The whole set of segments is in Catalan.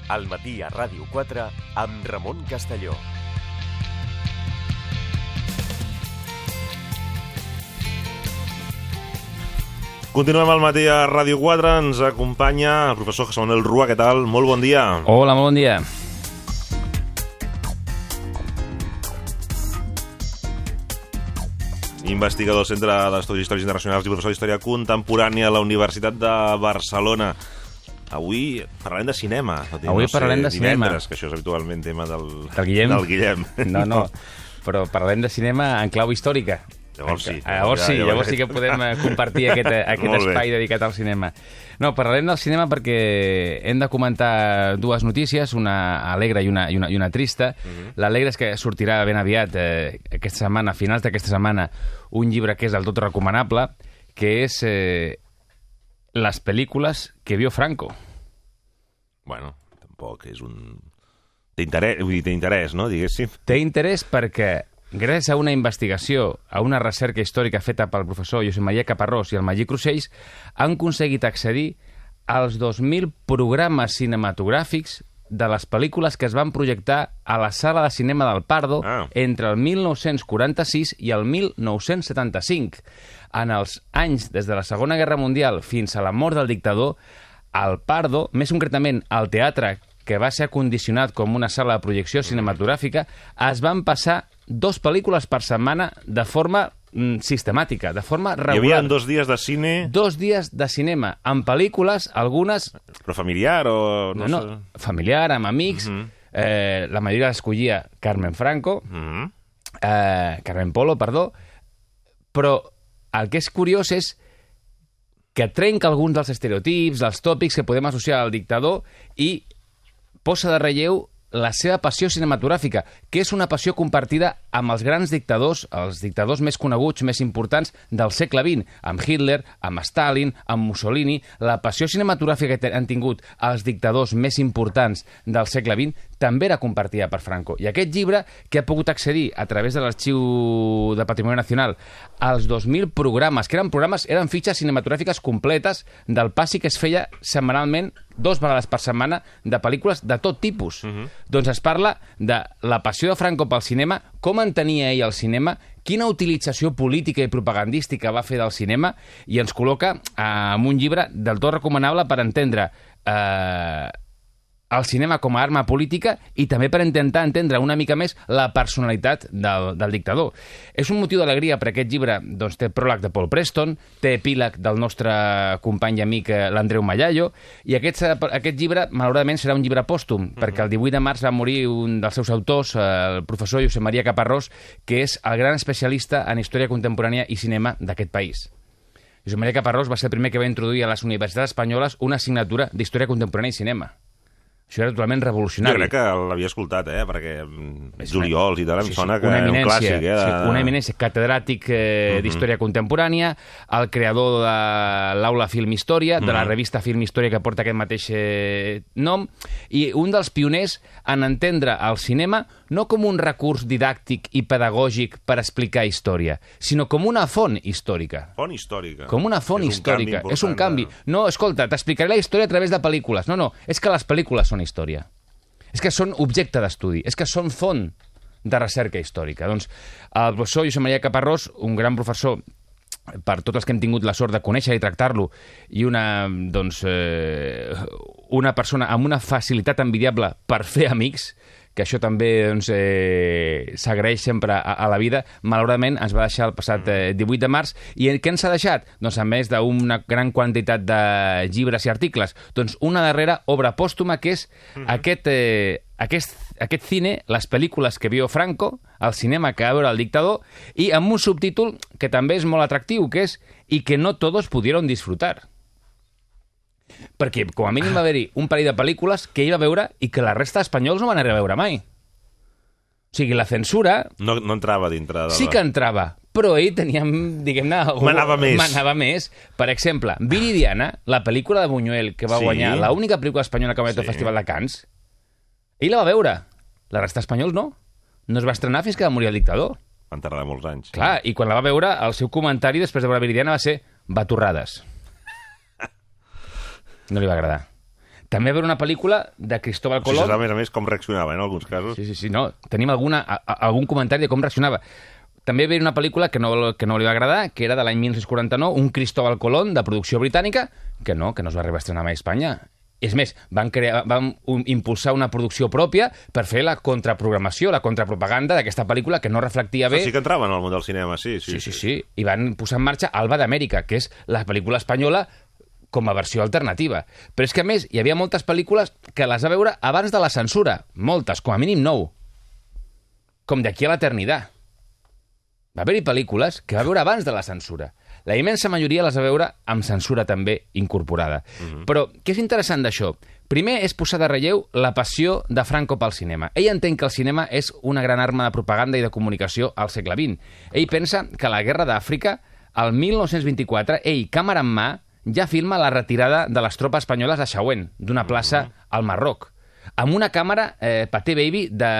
Al matí a Ràdio 4 amb Ramon Castelló. Continuem al matí a Ràdio 4, ens acompanya el professor José Manuel Rua. Què tal? Molt bon dia. Hola, molt bon dia. Investigador del Centre d'Estudis Històrics Internacionals i professor d'Història Contemporània a la Universitat de Barcelona. Avui parlarem de cinema. Avui parlarem de cinema. Divendres, que això és habitualment tema del Guillem. No, però parlarem de cinema en clau històrica. Llavors sí que podem compartir aquest espai dedicat al cinema. No, parlarem del cinema perquè hem de comentar dues notícies, una alegre i una trista. L'alegre és que sortirà ben aviat, aquesta setmana, a finals d'aquesta setmana, un llibre que és del tot recomanable, que és Les pel·lícules que vio Franco. Bueno, tampoc és un... Té interès, no, diguéssim? Té interès perquè gràcies a una investigació, a una recerca històrica feta pel professor Josep Maria Caparrós i el Magí Crusells, han aconseguit accedir als 2.000 programes cinematogràfics de les pel·lícules que es van projectar a la sala de cinema del Pardo entre el 1946 i el 1975. En els anys des de la Segona Guerra Mundial fins a la mort del dictador, al Pardo, més concretament al teatre que va ser acondicionat com una sala de projecció cinematogràfica, es van passar 2 pel·lícules per setmana de forma sistemàtica, de forma regular. Hi havia 2 dies de cine... 2 dies de cinema, amb pel·lícules, algunes... Però familiar o... No, familiar, amb amics. La majoria l'escollia Carmen Franco, Carmen Polo, perdó, però el que és curiós és que trenca alguns dels estereotips, dels tòpics que podem associar al dictador i posa de relleu la seva passió cinematogràfica, que és una passió compartida amb els grans dictadors, els dictadors més coneguts, més importants del segle XX, amb Hitler, amb Stalin, amb Mussolini. La passió cinematogràfica que han tingut els dictadors més importants del segle XX també era compartida per Franco. I aquest llibre, que ha pogut accedir a través de l'Arxiu de Patrimoni Nacional als 2.000 programes, que eren fitxes cinematogràfiques completes del passi que es feia setmanalment 2 vegades per setmana de pel·lícules de tot tipus. Doncs es parla de la passió de Franco pel cinema, com entenia ell el cinema, quina utilització política i propagandística va fer del cinema, i ens col·loca en un llibre del tot recomanable per entendre el cinema com a arma política i també per intentar entendre una mica més la personalitat del dictador. És un motiu d'alegria per aquest llibre, doncs té pròleg de Paul Preston, té epíleg del nostre company i amic l'Andreu Mallallo, i aquest llibre malauradament serà un llibre pòstum, perquè el 18 de març va morir un dels seus autors, el professor Josep Maria Caparrós, que és el gran especialista en història contemporània i cinema d'aquest país. Josep Maria Caparrós va ser el primer que va introduir a les universitats espanyoles una assignatura d'història contemporània i cinema. Això era totalment revolucionari. Jo crec que l'havia escoltat, perquè Juliols i tal, em sona que era un clàssic. Una eminència, catedràtic d'història contemporània, el creador de l'Aula Film Història, de la revista Film Història que porta aquest mateix nom, i un dels pioners en entendre el cinema no com un recurs didàctic i pedagògic per explicar història, sinó com una font històrica. Font històrica. Com una font històrica. És un canvi. No, escolta, t'explicaré la història a través de pel·lícules. No, és que les pel·lícules són història. És que són objecte d'estudi. És que són font de recerca històrica. Doncs el professor Josep Maria Caparrós, un gran professor per tots els que hem tingut la sort de conèixer i tractar-lo, i una persona amb una facilitat envidiable per fer amics, que això també s'agraeix sempre a la vida, malauradament ens va deixar el passat 18 de març. I què ens ha deixat? Doncs a més d'una gran quantitat de llibres i articles, doncs una darrera obra pòstuma que és aquest cine, les pel·lícules que vio Franco, el cinema que va veure el dictador, i amb un subtítol que també és molt atractiu, que és «Y que no todos pudieron disfrutar». Perquè, com a mínim, va haver-hi un parell de pel·lícules que ell va veure i que la resta d'espanyols no van arribar a veure mai. O sigui, la censura... No entrava dintre de... Sí que entrava, però ell tenia, diguem-ne... Manava més. Per exemple, Viridiana, la pel·lícula de Buñuel que va guanyar, l'única pel·lícula espanyola que va guanyar el Festival de Cannes, ell la va veure. La resta d'espanyols no. No es va estrenar fins que va morir el dictador. Van tardar molts anys. Clar, i quan la va veure, el seu comentari després de veure Viridiana va ser batorrades. No li va agradar. també va haver una pel·lícula de Cristóbal O sigui, Colón. a més, com reaccionava, en alguns casos. Sí, no. Tenim algun comentari de com reaccionava. També va haver una pel·lícula que no li va agradar, que era de l'any 1949, un Cristóbal Colón de producció britànica, que no es va arribar a estrenar mai a Espanya. És més, van impulsar una producció pròpia per fer la contraprogramació, la contrapropaganda d'aquesta pel·lícula que no reflectia bé. Sí que entraven al món del cinema, sí. I van posar en marxa Alba d'Amèrica, que és la pel·lícula espanyola com a versió alternativa. Però és que, a més, hi havia moltes pel·lícules que les va veure abans de la censura. Moltes, com a mínim 9. Com D'aquí a l'eternitat. Va haver-hi pel·lícules que va veure abans de la censura. La immensa majoria les va veure amb censura també incorporada. Però què és interessant d'això? Primer és posar de relleu la passió de Franco pel cinema. Ell entén que el cinema és una gran arma de propaganda i de comunicació al segle XX. Ell pensa que a la Guerra d'Àfrica, el 1924, ell, càmera en mà, ja filma la retirada de les tropes espanyoles de Chauen, d'una plaça al Marroc, amb una càmera Pathé Baby de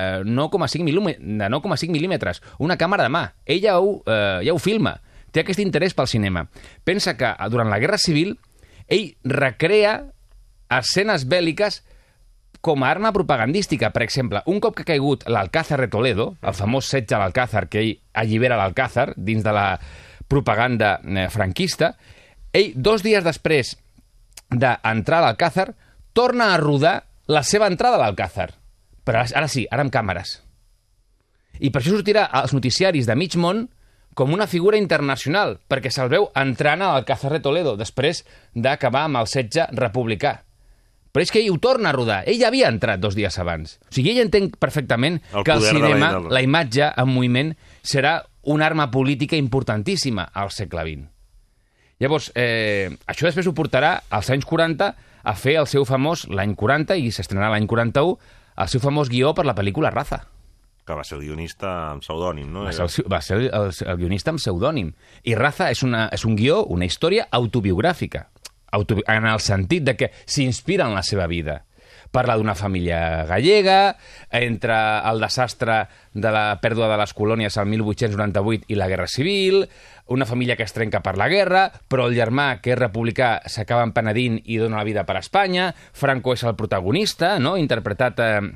9,5 mil·límetres, una càmera de mà. Ell ja ho filma, té aquest interès pel cinema. Pensa que durant la Guerra Civil ell recrea escenes bèl·liques com a arma propagandística. Per exemple, un cop que ha caigut l'Alcázar de Toledo, el famós setge a l'Alcázar, que ell allibera l'Alcázar dins de la propaganda franquista, ell, 2 dies després d'entrar a l'Alcázar, torna a rodar la seva entrada a l'Alcázar. Però ara sí, ara amb càmeres. I per això sortirà als noticiaris de mig món com una figura internacional, perquè se'l veu entrant a l'Alcázar de Toledo, després d'acabar amb el setge republicà. Però és que ell ho torna a rodar. Ell havia entrat 2 dies abans. O sigui, ell entén perfectament que el cinema, la imatge en moviment, serà una arma política importantíssima al segle XX. Llavors, això després ho portarà als anys 40 a fer el seu famós, l'any 40, i s'estrenarà l'any 41, el seu famós guió per la pel·lícula Raza. Que va ser el guionista amb pseudònim, no? Va ser el guionista amb pseudònim. I Raza és un guió, una història autobiogràfica, en el sentit de que s'inspira en la seva vida. Parla d'una família gallega, entre el desastre de la pèrdua de les colònies al 1898 i la Guerra Civil, una família que es trenca per la guerra, però el germà, que és republicà, s'acaba empenedint i dona la vida per Espanya. Franco és el protagonista, no? Interpretat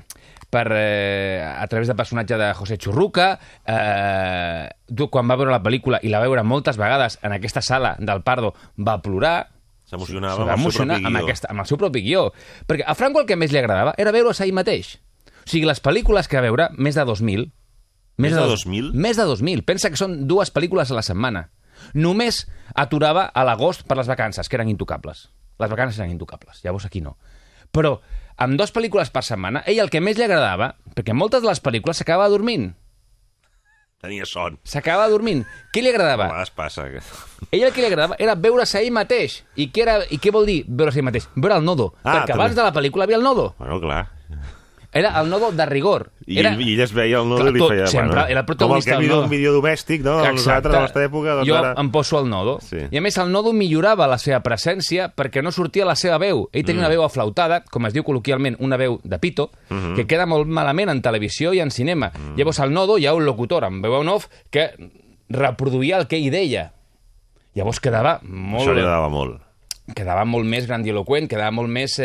a través del personatge de José Churruca. Quan va veure la pel·lícula, i la va veure moltes vegades en aquesta sala del Pardo, va plorar. S'emocionava amb el seu propi guió. Perquè a Franco el que més li agradava era veure's a ell mateix. O sigui, les pel·lícules que va veure, més de 2.000. Més de 2.000? Més de 2.000. Pensa que són 2 pel·lícules a la setmana. Només aturava a l'agost per les vacances, que eren intocables. Les vacances eren intocables, llavors aquí no. Però amb 2 pel·lícules per setmana, ell el que més li agradava, perquè moltes de les pel·lícules s'acaba dormint. Tenia son. S'acaba dormint. Què li agradava? A vegades passa. Ell el que li agradava era veure's a ell mateix. I què vol dir veure's a ell mateix? Veure el nodo. Perquè abans de la pel·lícula havia el nodo. Bueno, clar. Era el nodo de rigor. I ell es veia el nodo i li feia... Sempre, era el protagonista com el que mira un vídeo domèstic, no? Nosaltres, a la nostra època... Doncs jo em poso al nodo. Sí. I a més, el nodo millorava la seva presència perquè no sortia la seva veu. Ell tenia una veu aflautada, com es diu col·loquialment, una veu de pito, que queda molt malament en televisió i en cinema. Llavors, al nodo hi ha un locutor amb veu en off que reproduïa el que ell deia. Llavors quedava molt... Això li agradava molt. Quedava molt més grandiloquent, quedava molt més...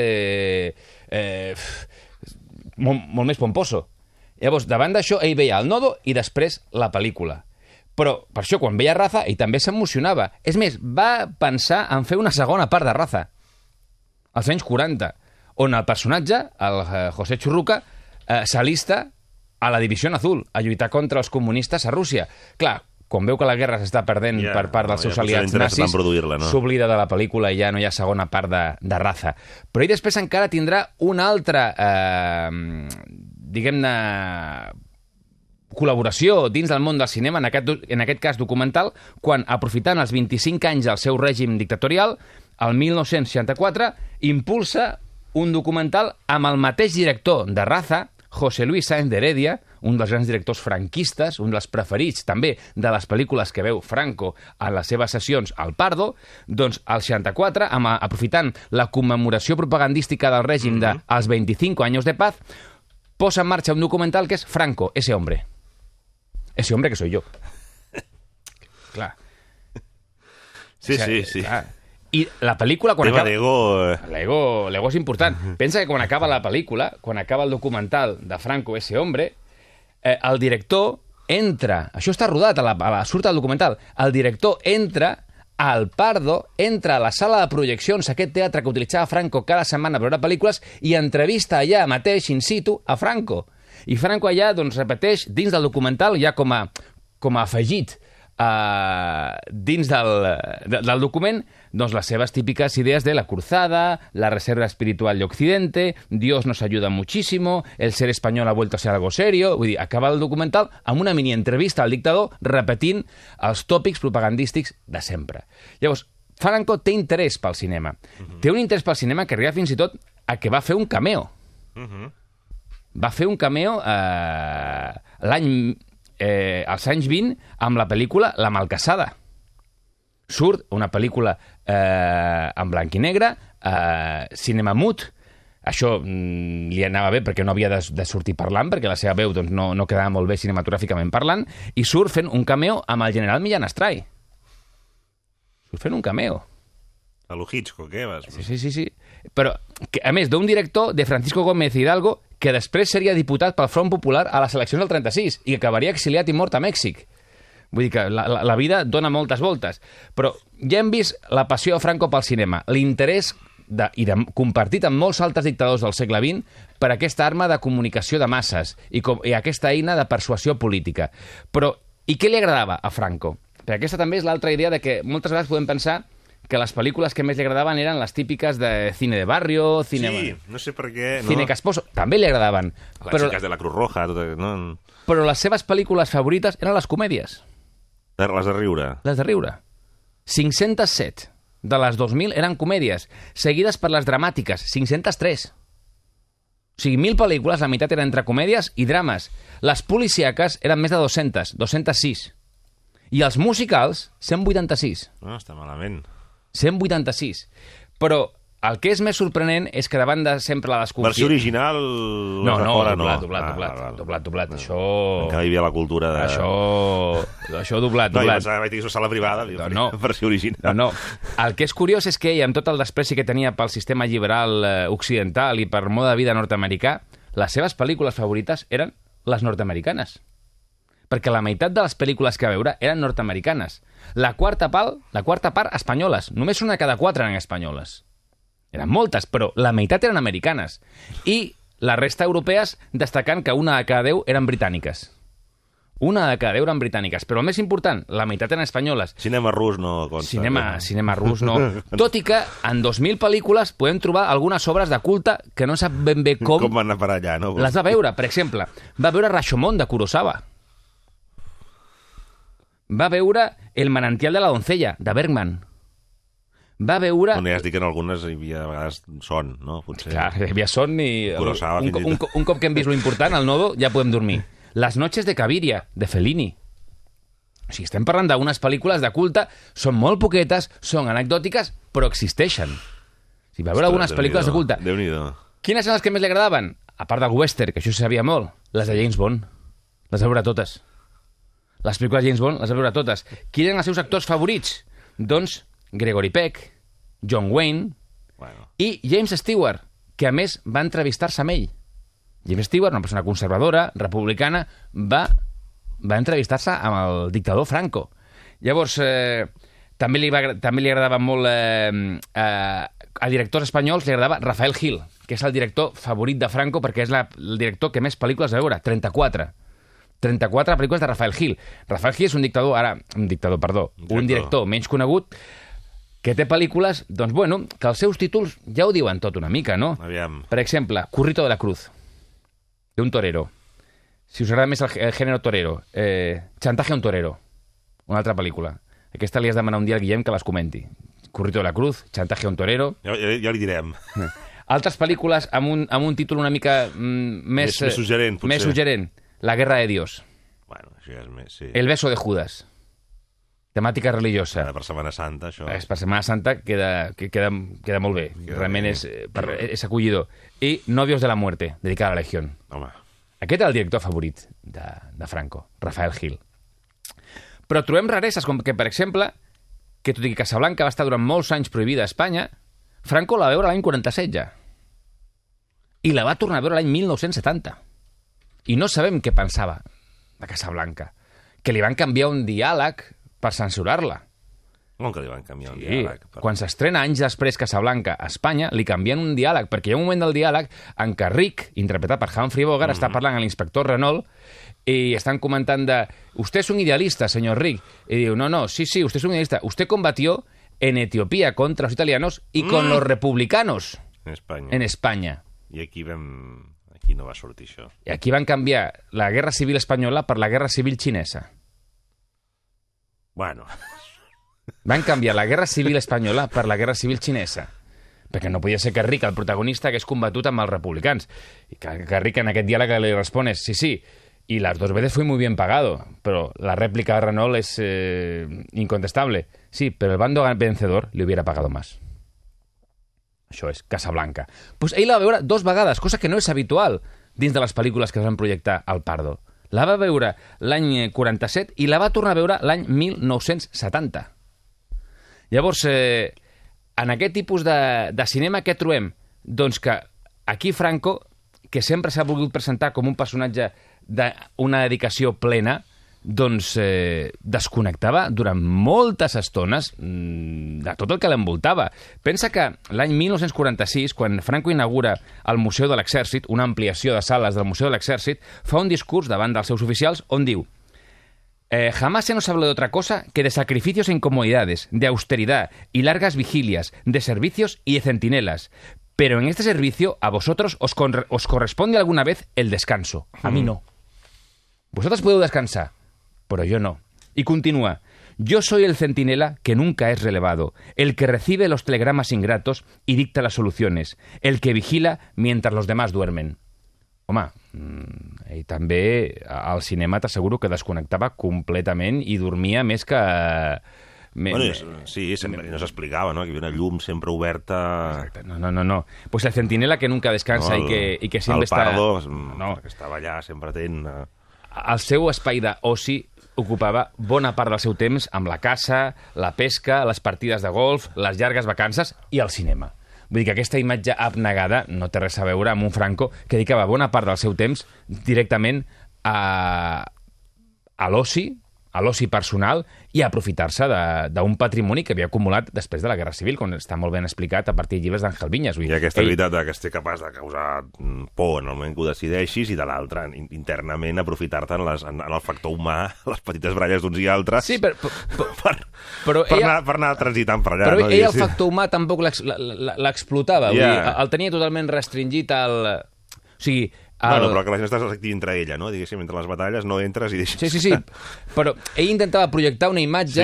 molt més pomposo. Llavors, davant d'això, ell veia el nodo i després la pel·lícula. Però, per això, quan veia Raza, ell també s'emocionava. És més, va pensar en fer una segona part de Raza, als anys 40, on el personatge, el José Churruca, s'alista a la Divisió Azul, a lluitar contra els comunistes a Rússia. Clar, quan veu que la guerra s'està perdent per part dels seus aliats nazis, s'oblida de la pel·lícula i ja no hi ha segona part de Raza. Però ell després encara tindrà una altra, diguem-ne, col·laboració dins del món del cinema, en aquest cas documental, quan, aprofitant els 25 anys del seu règim dictatorial, el 1964, impulsa un documental amb el mateix director de Raza, José Luis Sáenz de Heredia, un dels grans directors franquistes, un dels preferits també de les pel·lícules que veu Franco a les seves sessions al Pardo, doncs al 64, aprofitant la commemoració propagandística del règim dels 25 anys de paz, posa en marxa un documental que és Franco, ese hombre. Ese hombre que soy yo. Clar. Sí. Clar. I la pel·lícula, quan Tema acaba... d'ego... L'ego és important. Pensa que quan acaba la pel·lícula, quan acaba el documental de Franco, ese hombre, el director entra... Això està rodat, surt al documental. El director entra al Pardo, entra a la sala de projeccions, aquest teatre que utilitzava Franco cada setmana per veure pel·lícules, i entrevista allà mateix, in situ, a Franco. I Franco allà, doncs, repeteix, dins del documental, ja com a afegit dins del document, doncs les seves típiques idees de la cruzada, la reserva espiritual de Occidente, Dios nos ayuda muchísimo, el ser español ha vuelto a ser algo serio. Vull dir, acaba el documental amb una mini entrevista al dictador repetint els tòpics propagandístics de sempre. Llavors, Franco té interès pel cinema. Té un interès pel cinema que arriba fins i tot a que va fer un cameo. Va fer un cameo als anys 20 amb la pel·lícula La Malcassada. Surt una pel·lícula en blanc i negre, cinema mut. Això li anava bé perquè no havia de sortir parlant, perquè la seva veu doncs, no quedava molt bé cinematogràficament parlant, i surt fent un cameo amb el general Millán Astray. Surt fent un cameo. A lo Hitchcock, vas? Sí. Però, a més, d'un director de Francisco Gómez Hidalgo que després seria diputat pel Front Popular a les eleccions del 36 i que acabaria exiliat i mort a Mèxic. Vull dir que la vida dona moltes voltes. Però ja hem vist la passió de Franco pel cinema, l'interès compartit amb molts altres dictadors del segle XX per aquesta arma de comunicació de masses i aquesta eina de persuasió política. Però, i què li agradava a Franco? Perquè aquesta també és l'altra idea de que moltes vegades podem pensar que les pel·lícules que més li agradaven eren les típiques de cine de barrio, cine... Sí, no sé per què... Cine casposo, també li agradaven. Les xiques de la Cruz Roja... No? Però les seves pel·lícules favorites eren les comèdies. Les de riure. Les de riure. 507 de les 2.000 eren comèdies, seguides per les dramàtiques, 503. O sigui, 1.000 pel·lícules, la meitat eren entre comèdies i drames. Les policíaques eren més de 200, 206. I els musicals, 186. No, està malament. 186. Però el que és més sorprenent és que davant de sempre la desconfiança... Versió original... Doblat. Això... Encara hi havia la cultura de... Això doblat. No, jo vaig dir que és sala privada, versió original. No. El que és curiós és que ell, amb tot el despreci que tenia pel sistema liberal occidental i per mode de vida nord-americà, les seves pel·lícules favorites eren les nord-americanes. Perquè la meitat de les pel·lícules que va veure eren nord-americanes. La quarta part espanyoles. Només una de cada 4 eren espanyoles. Eren moltes, però la meitat eren americanes. I la resta europees destacant que una de cada 10 eren britàniques. Una de cada 10 eren britàniques. Però el més important, la meitat eren espanyoles. Cinema rus no consta. Cinema rus no. Tot i que en 2.000 pel·lícules podem trobar algunes obres de culte que no sap ben bé com van anar per allà, no? Les va veure. Per exemple, va veure Rashomon de Kurosawa. Va veure El manantial de la doncella, de Bergman. Va veure... Bueno, ja has dit que en algunes hi havia a vegades son, no? Potser... Clar, hi havia son i... Kurosawa, un cop que hem vist lo important, al nodo, ja podem dormir. Las noches de Caviria, de Fellini. O sigui, estem parlant d'unes pel·lícules de culte, són molt poquetes, són anecdòtiques, però existeixen. O sigui, va veure algunes pel·lícules de culte. Déu-n'hi-do. Quines són les que més li agradaven? A part del western, que això se sabia molt, les de James Bond. Les va veure totes. Les pel·lícules de James Bond les va veure totes. Qui eren els seus actors favorits? Doncs Gregory Peck, John Wayne i James Stewart, que a més va entrevistar-se amb ell. James Stewart, una persona conservadora, republicana, va entrevistar-se amb el dictador Franco. Llavors, també li agradava molt... a directors espanyols li agradava Rafael Gil, que és el director favorit de Franco perquè és el director que més pel·lícules va veure, 34 pel·lícules de Rafael Gil. Rafael Gil és un director menys conegut que té pel·lícules, doncs bueno, que els seus títols ja ho diuen tot una mica, no? Aviam. Per exemple, Currito de la Cruz, de un torero. Si us agrada més el gènere torero, Chantaje a un torero, una altra pel·lícula. Aquesta li has de demanar un dia al Guillem que les comenti. Currito de la Cruz, Chantaje a un torero... Ja li direm. Altres pel·lícules amb un títol una mica més suggerent, potser. Més suggerent. La guerra de Dios. Bueno, això ja és més... Sí. El beso de Judas. Temàtica religiosa. Per Setmana Santa, això... Per Setmana Santa queda molt bé. Realment és acollidor. I Novios de la muerte, dedicada a la Legión. Home. Aquest era el director favorit de Franco, Rafael Gil. Però trobem rareses com que, per exemple, que tot i que Casablanca va estar durant molts anys prohibida a Espanya, Franco la va veure l'any 47 ja. I la va tornar a veure l'any 1970. I no sabem què pensava de Casablanca. Que li van canviar un diàleg per censurar-la. Com que li van canviar un Sí, diàleg? quan s'estrena anys després Casablanca a Espanya, li canvien un diàleg, perquè hi ha un moment del diàleg en què Rick, interpretat per Humphrey Bogart, està parlant amb l'inspector Renault y estan comentant de «Usted es un idealista, señor Rick». Y diu «No, sí, usted es un idealista. Usted combatió en Etiopía contra los italianos y con los republicanos en España». I aquí no va sortir això. I aquí van canviar la guerra civil espanyola per la guerra civil xinesa. Bueno... Van canviar la guerra civil espanyola per la guerra civil xinesa. Perquè no podia ser que Rick, el protagonista, hagués combatut amb els republicans. I que Rick en aquest diàleg li respon sí, y las 2 veces fui muy bien pagado, pero la réplica de Renault es incontestable. Sí, pero el bando vencedor le hubiera pagado más. Això és Casablanca. Pues ell la va veure 2 vegades, cosa que no és habitual dins de les pel·lícules que es van projectar al Pardo. La va veure l'any 47 i la va tornar a veure l'any 1970. Llavors, en aquest tipus de cinema, què trobem? Doncs que aquí Franco, que sempre s'ha volgut presentar com un personatge d'una dedicació plena, doncs desconnectava durant moltes estones de tot el que l'envoltava. Pensa que l'any 1946, quan Franco inaugura el Museu de l'Exèrcit, una ampliació de sales del Museu de l'Exèrcit, fa un discurs davant dels seus oficials on diu jamás se nos habló de otra cosa que de sacrificios e incomodidades, de austeridad y largas vigilias, de servicios y de centinelas. Pero en este servicio a vosotros os corresponde alguna vez el descanso. A mí no. Vosotros podeu descansar, pero yo no. Y continúa. Yo soy el centinela que nunca es relevado, el que recibe los telegramas ingratos y dicta las soluciones, el que vigila mientras los demás duermen. Home, i també al cinema t'asseguro que desconnectava completament i dormia més que... Sí, no s'explicava, no? Que hi havia una llum sempre oberta... Exacte. No. Pues el centinela que nunca descansa i que sempre està... El Pardo, que estava allà sempre atent... El seu espai d'oci ocupava bona part del seu temps amb la caça, la pesca, les partides de golf, les llargues vacances i el cinema. Vull dir que aquesta imatge abnegada no té res a veure amb un Franco que dedicava bona part del seu temps directament a l'oci personal i a aprofitar-se d'un patrimoni que havia acumulat després de la Guerra Civil, quan està molt ben explicat a partir de llibres d'Àngel Viñas. I aquesta habilitat que estigui capaç de causar por en el moment que ho decideixis i de l'altre, internament, aprofitar-te en el factor humà, les petites bralles d'uns i altres, sí, per anar transitant per allà. Però ell el factor humà tampoc l'explotava, el tenia totalment restringit al... O sigui... Però que la gent s'activi entre ella, no? Diguéssim, entre les batalles no entres i deixes... Sí. Però ell intentava projectar una imatge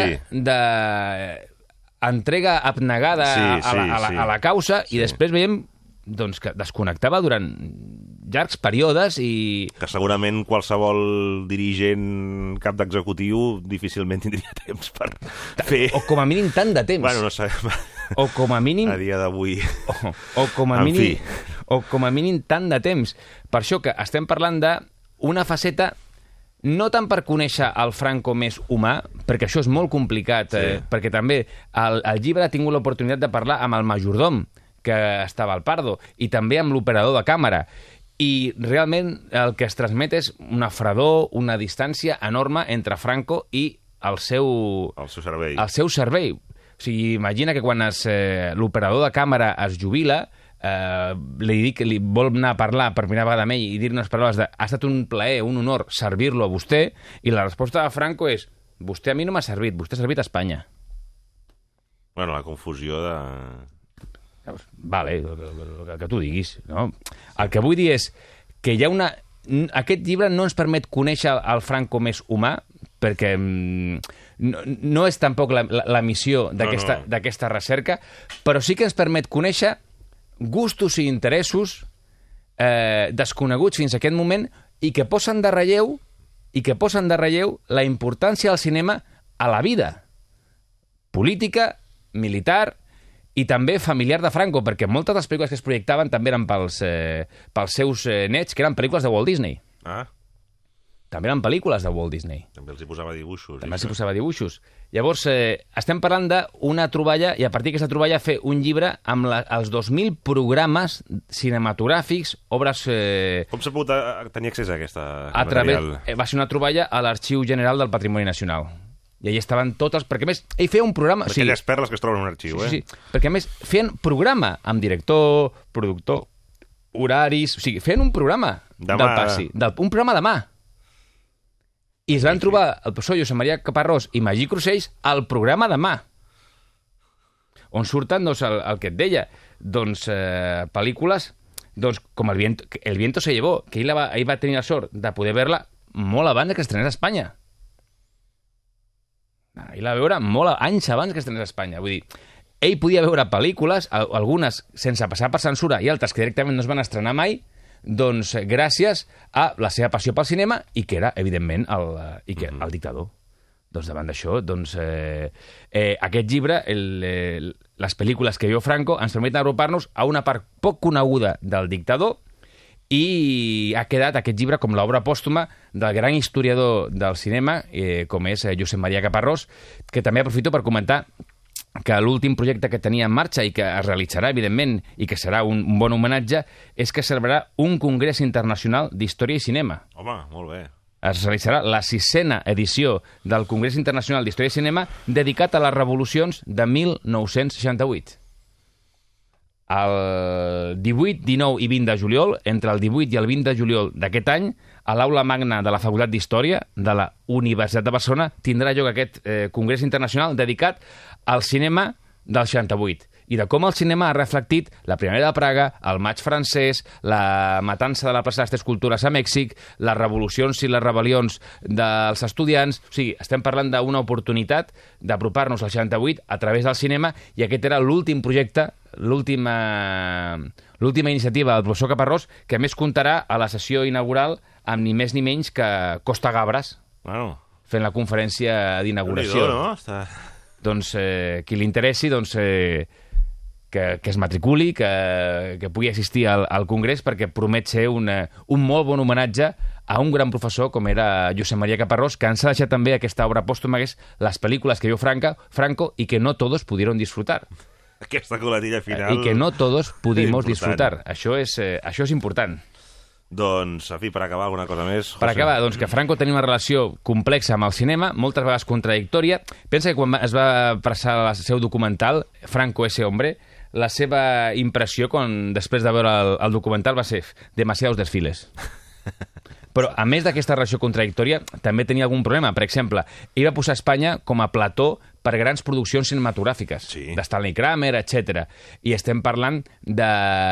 d'entrega abnegada a la causa i després veiem doncs, que desconnectava durant llargs períodes i... Que segurament qualsevol dirigent cap d'executiu difícilment tindria temps per fer... O com a mínim tant de temps. Bueno, no sabem... O com a mínim... A dia d'avui... O com a mínim... O com a mínim tant de temps. Per això que estem parlant d'una faceta no tant per conèixer el Franco més humà, perquè això és molt complicat, perquè també el llibre ha tingut l'oportunitat de parlar amb el majordom que estava al Pardo i també amb l'operador de càmera. I realment el que es transmet és una fredor, una distància enorme entre Franco i el seu servei. O sigui, imagina que quan l'operador de càmera es jubila, li dic que li vol anar a parlar per primera vegada amb ell i dir unes paraules de ha estat un plaer, un honor servir-lo a vostè, i la resposta de Franco és vostè a mi no m'ha servit, vostè ha servit a Espanya. Bueno, la confusió de... Vale, el que tu diguis, no? El que vull dir és que hi ha una... Aquest llibre no ens permet conèixer el Franco més humà, perquè no és tampoc la missió d'aquesta recerca, però sí que ens permet conèixer gustos i interessos desconeguts fins a aquest moment i que posen de relleu la importància del cinema a la vida política, militar i també familiar de Franco, perquè moltes de les pel·lícules que es projectaven també eren pels seus nets, que eren pel·lícules de Walt Disney. també eren pel·lícules de Walt Disney. També els hi posava dibuixos. També s'hi posava dibuixos. Llavors, estem parlant d'una troballa, i a partir d'aquesta troballa fer un llibre amb els 2.000 programes cinematogràfics, obres... Com s'ha pogut tenir accés a aquesta material? Va ser una troballa a l'Arxiu General del Patrimoni Nacional. I allà estaven totes... Perquè, a més, ell feia un programa... Aquelles perles que es troben en un arxiu, sí. Perquè, a més, feien programa amb director, productor, horaris... O sigui, feien un programa del passi. Un programa de mà. I es van trobar el professor Josep Maria Caparrós i Magí Crusells al programa de mà, on surten, doncs, el que et deia, doncs, pel·lícules doncs, com El viento se llevó, que ell va tenir la sort de poder veure-la molt abans que estrenés a Espanya. Ell la va veure anys abans que estrenés a Espanya. Vull dir, ell podia veure pel·lícules, algunes sense passar per censura i altres que directament no es van estrenar mai, doncs gràcies a la seva passió pel cinema i que era, evidentment, el dictador. Doncs davant d'això, doncs, aquest llibre, les pel·lícules que veu Franco, ens permeten agrupar-nos a una part poc coneguda del dictador i ha quedat aquest llibre com l'obra pòstuma del gran historiador del cinema, com és Josep Maria Caparrós, que també aprofito per comentar que l'últim projecte que tenia en marxa i que es realitzarà, evidentment, i que serà un bon homenatge, és que celebrarà un congrés internacional d'història i cinema. Home, molt bé. Es realitzarà la 6a edició del Congrés Internacional d'Història i Cinema dedicat a les revolucions de 1968. El 18, 19 i 20 de juliol, entre el 18 i el 20 de juliol d'aquest any, a l'Aula Magna de la Facultat d'Història de la Universitat de Barcelona tindrà lloc aquest Congrés Internacional dedicat al cinema del 68 i de com el cinema ha reflectit la Primavera de Praga, el maig francès, la matança de la plaça de les Tres Cultures a Mèxic, les revolucions i les rebel·lions dels estudiants. O sigui, estem parlant d'una oportunitat d'apropar-nos al 68 a través del cinema i aquest era l'últim projecte, l'última iniciativa del professor Caparrós, que a més comptarà a la sessió inaugural amb ni més ni menys que Costa Gabres, fent la conferència d'inauguració. Doncs qui li interessi, doncs, que es matriculi, que pugui assistir al Congrés, perquè promet ser un molt bon homenatge a un gran professor com era Josep Maria Caparrós, que ens ha deixat també aquesta obra pòstuma, que és les pel·lícules que veu Franco i que no todos pudieron disfrutar. Aquesta coletilla final... I que no todos pudimos disfrutar. Això és important. Doncs, en fi, per acabar, alguna cosa més? Per acabar, doncs que Franco tenia una relació complexa amb el cinema, moltes vegades contradictòria. Pensa que quan es va passar el seu documental, Franco ese hombre, la seva impressió, després de veure el documental, va ser demasiados desfiles. Però, a més d'aquesta relació contradictòria, també tenia algun problema. Per exemple, ell va posar Espanya com a plató per grans produccions cinematogràfiques, de Stanley Kramer, etc. I estem parlant de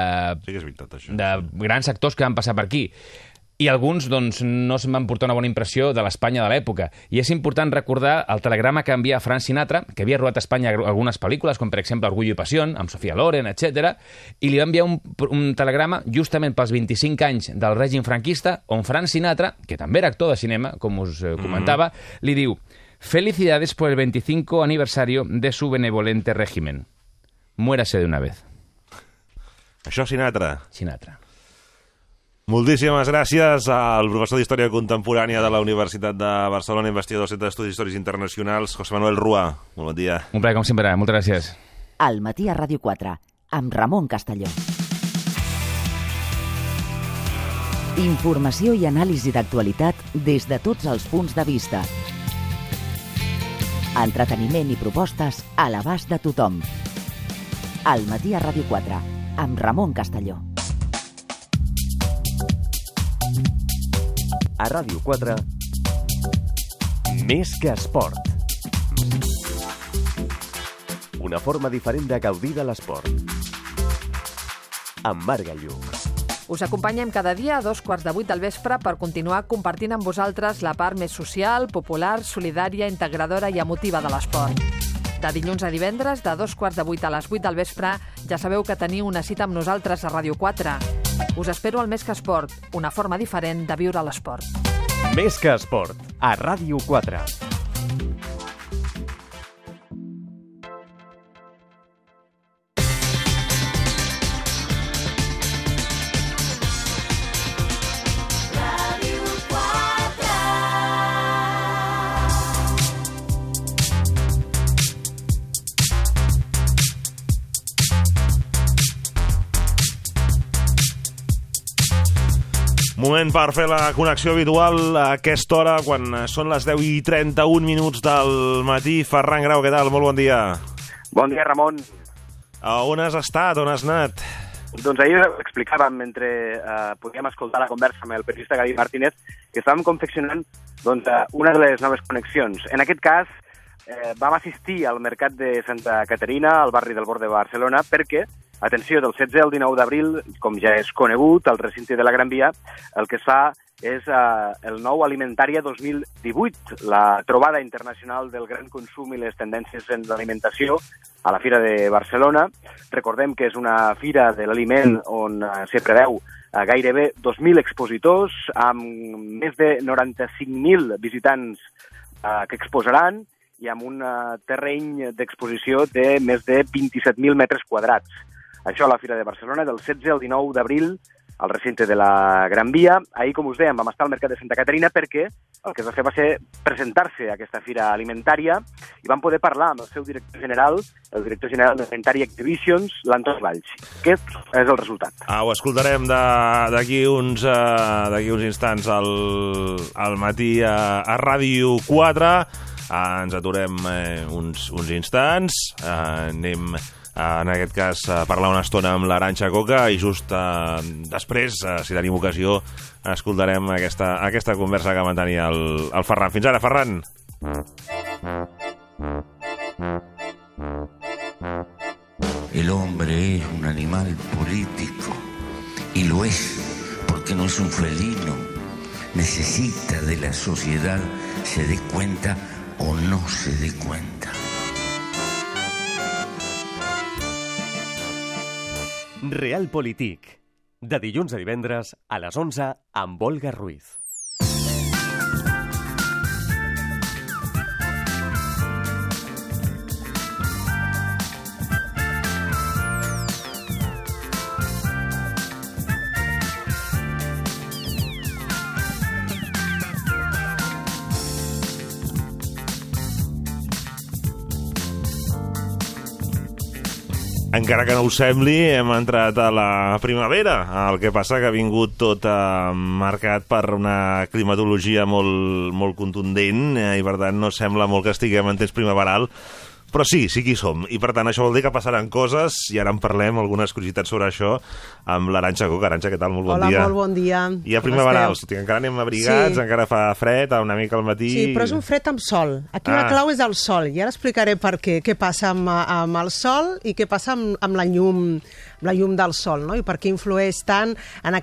grans actors que van passar per aquí. I alguns doncs, no se'n van portar una bona impressió de l'Espanya de l'època. I és important recordar el telegrama que envia Frank Sinatra, que havia rodat a Espanya algunes pel·lícules, com per exemple Orgullo i Passió, amb Sofia Loren, etc. I li va enviar un telegrama justament pels 25 anys del règim franquista, on Frank Sinatra, que també era actor de cinema, com us comentava, li diu: «Felicidades por el 25 aniversario de su benevolente régimen. Muérase de una vez». Això Sinatra. Sinatra. Moltíssimes gràcies al professor d'Història Contemporània de la Universitat de Barcelona, investigador del Centre d'Estudis Històrics Internacionals, José Manuel Rua. Molt bon dia. Un plaer, com sempre. Moltes gràcies. Al matí a Ràdio 4, amb Ramon Castelló. Informació i anàlisi d'actualitat des de tots els punts de vista. Entreteniment i propostes a l'abast de tothom. Al matí a Ràdio 4, amb Ramon Castelló. A Ràdio 4, Més que esport. Una forma diferent de gaudir de l'esport. Amb Marc Gallug. Us acompanyem cada dia a 7:15 del vespre per continuar compartint amb vosaltres la part més social, popular, solidària, integradora i emotiva de l'esport. De dilluns a divendres, de 7:15 a les 8 del vespre, ja sabeu que teniu una cita amb nosaltres a Ràdio 4. Us espero al Més que esport, una forma diferent de viure l'esport. Més que esport, a Ràdio 4. Moment per fer la connexió habitual a aquesta hora, quan són les 10:31 del matí. Ferran Grau, què tal? Molt bon dia. Bon dia, Ramon. A on has estat? On has anat? Doncs ahir explicàvem, mentre podíem escoltar la conversa amb el periodista Gaby Martínez, que estàvem confeccionant una de les noves connexions. En aquest cas, vam assistir al mercat de Santa Caterina, al barri del Born de Barcelona, perquè, atenció, del 16 al 19 d'abril, com ja és conegut, al recinte de la Gran Via, el que es fa és el nou Alimentària 2018, la trobada internacional del gran consum i les tendències en l'alimentació a la Fira de Barcelona. Recordem que és una fira de l'aliment on s'hi preveu gairebé 2.000 expositors, amb més de 95.000 visitants que exposaran i amb un terreny d'exposició de més de 27.000 metres quadrats. Això a la Fira de Barcelona, del 16 al 19 d'abril, al recinte de la Gran Via. Ahir, com us dèiem, vam estar al mercat de Santa Caterina perquè el que es va fer va ser presentar-se a aquesta fira alimentària i vam poder parlar amb el seu director general, el director general d'Alimentari Exhibitions, l'Antoni Valls. Aquest és el resultat. Ho escoltarem d'aquí uns instants al matí a Ràdio 4. Ens aturem uns instants, anem en aquest cas a parlar una estona amb l'Arantxa Coca i just després, si tenim ocasió, escoltarem aquesta conversa que mantenia el Ferran. Fins ara, Ferran. El hombre es un animal político y lo es porque no es un felino. Necesita de la sociedad, se dé cuenta o no se dé cuenta. Realpolitik, de dilluns a divendres a les 11 amb Olga Ruiz. Encara que no us sembli, hem entrat a la primavera. El que passa que ha vingut tot marcat per una climatologia molt contundent i, per tant, no sembla molt que estiguem en temps primaveral. Però sí que hi som. I, per tant, això vol dir que passaran coses i ara en parlem, algunes curiositats sobre això, amb l'Arantxa Coca. Arantxa, què tal? Molt bon dia. Hola, molt bon dia. I a primaverals, encara anem abrigats, encara fa fred, una mica al matí... Sí, però és un fred amb sol. Aquí la clau és el sol. I ara explicaré per què passa amb el sol i què passa amb la llum del sol, no? I per què influeix tant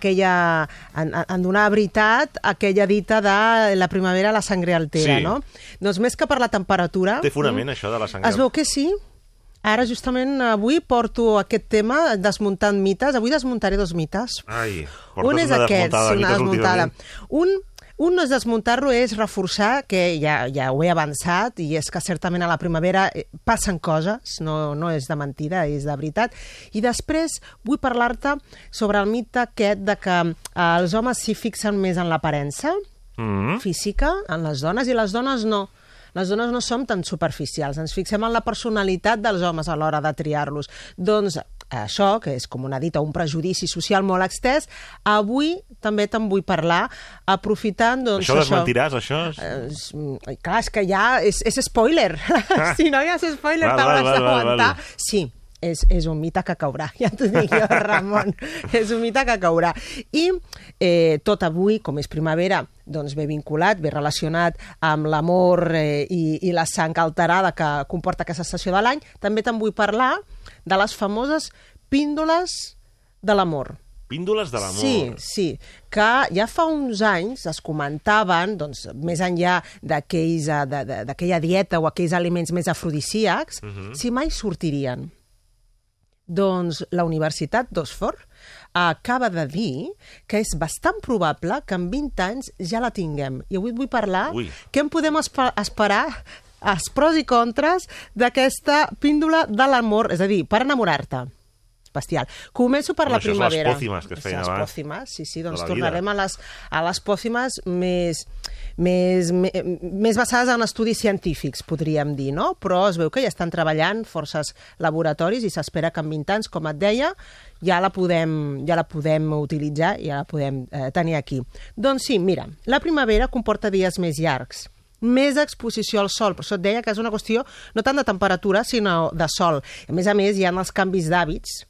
en donar veritat aquella dita de la primavera la sangre altera, no? Doncs més que per la temperatura... Té fonament, això de la sangre altera? Es veu que sí. Ara, justament, avui porto aquest tema desmuntant mites. Avui desmuntaré dos mites. Ai, un és aquest, una desmuntada. Un no és desmuntar-lo, és reforçar, que ja ho he avançat, i és que certament a la primavera passen coses, no és de mentida, és de veritat. I després vull parlar-te sobre el mite aquest de que els homes s'hi fixen més en l'aparença física, en les dones, i les dones no. Les dones no som tan superficials, ens fixem en la personalitat dels homes a l'hora de triar-los. Doncs això, que és com una dita, un prejudici social molt extès, avui també te'n vull parlar, aprofitant... Doncs, això desmentiràs, això? Clar, és que ja és spoiler. Si no hi ha spoiler, t'hauràs d'aguantar. Sí. És un mite que caurà, ja t'ho dic jo, Ramon. És un mite que caurà. I tot avui, com és primavera, doncs ve vinculat, ve relacionat amb l'amor i la sang alterada que comporta aquesta estació de l'any. També te'n vull parlar de les famoses píndoles de l'amor. Píndoles de l'amor. Sí, que ja fa uns anys es comentaven, doncs, més enllà d'aquella dieta o aquells aliments més afrodisíacs, si mai sortirien. Doncs la Universitat d'Oxford acaba de dir que és bastant probable que en 20 anys ja la tinguem. I avui et vull parlar què en podem esperar, els pros i contres d'aquesta píndola de l'amor, és a dir, per enamorar-te. bestial. Començo per la Això primavera. són les pòcimes que es feien abans. Les pòcimes, sí, doncs la tornarem a les pòcimes més basades en estudis científics, podríem dir, no? Però es veu que ja estan treballant forces laboratoris i s'espera que en 20 anys, com et deia, ja la podem utilitzar, ja la podem tenir aquí. Doncs sí, mira, la primavera comporta dies més llargs, més exposició al sol, per això et deia que és una qüestió no tant de temperatura, sinó de sol. A més, hi ha els canvis d'hàbits